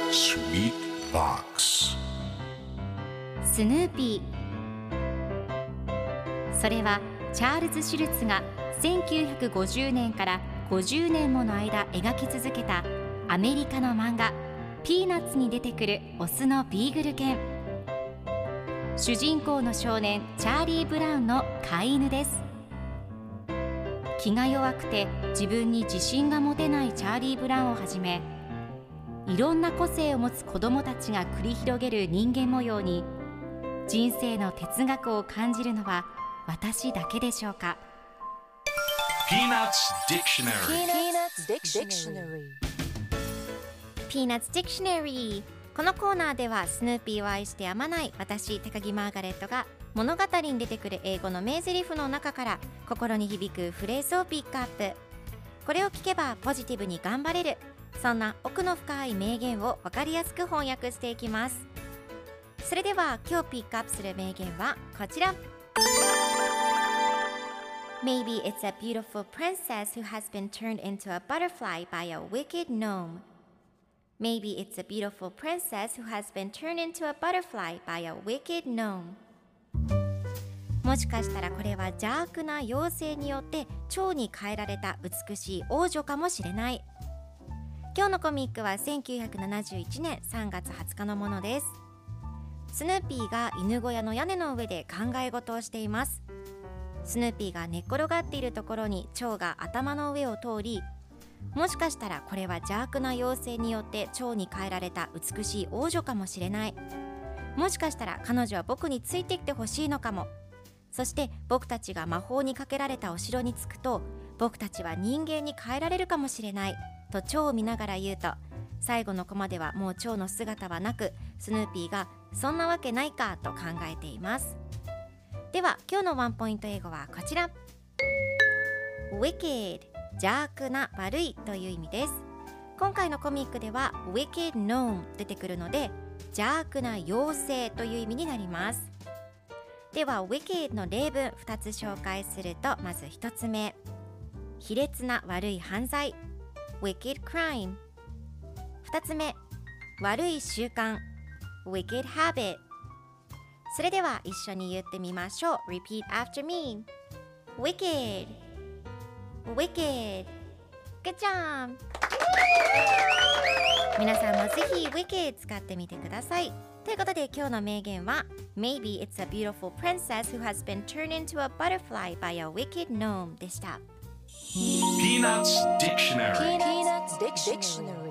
Sweet Box スヌーピー。それはチャールズ・シュルツが1950年から50年もの間描き続けたアメリカの漫画ピーナッツに出てくるオスのビーグル犬。主人公の少年チャーリー・ブラウンの飼い犬です。気が弱くて自分に自信が持てないチャーリー・ブラウンをはじめ、いろんな個性を持つ子どもたちが繰り広げる人間模様に人生の哲学を感じるのは私だけでしょうか。 Peanuts Dictionary Peanuts Dictionary。 このコーナーではスヌーピーを愛してやまない私高木マーガレットが物語に出てくる英語の名台詞の中から心に響くフレーズをピックアップ。これを聞けばポジティブに頑張れる、そんな奥の深い名言を分かりやすく翻訳していきます。それでは今日ピックアップする名言はこちら。 Maybe it's a beautiful princess who has been turned into a butterfly by a wicked gnome. Maybe it's a beautiful princess who has been turned into a butterfly by a wicked gnome. もしかしたらこれは邪悪な妖精によって蝶に変えられた美しい王女かもしれない。今日のコミックは1971年3月20日のものです。スヌーピーが犬小屋の屋根の上で考え事をしています。スヌーピーが寝っ転がっているところに蝶が頭の上を通り、もしかしたらこれは邪悪な妖精によって蝶に変えられた美しい王女かもしれない。もしかしたら彼女は僕についてきてほしいのかも。そして僕たちが魔法にかけられたお城に着くと僕たちは人間に変えられるかもしれないと蝶を見ながら言うと、最後のコマではもう蝶の姿はなく、スヌーピーがそんなわけないかと考えています。では今日のワンポイント英語はこちら。 Wicked、 邪悪な、悪いという意味です。今回のコミックでは Wicked Gnome 出てくるので邪悪な妖精という意味になります。では Wicked の例文2つ紹介すると、まず1つ目、卑劣な悪い犯罪 Wicked Crime。 2つ目、悪い習慣 Wicked Habit。 それでは一緒に言ってみましょう。 Repeat after me. Wicked Wicked。 Good job。 皆さんもぜひ Wicked 使ってみてください。ということで今日の名言は Maybe it's a beautiful princess who has been turned into a butterfly by a wicked gnome でした。 Peanuts Dictionary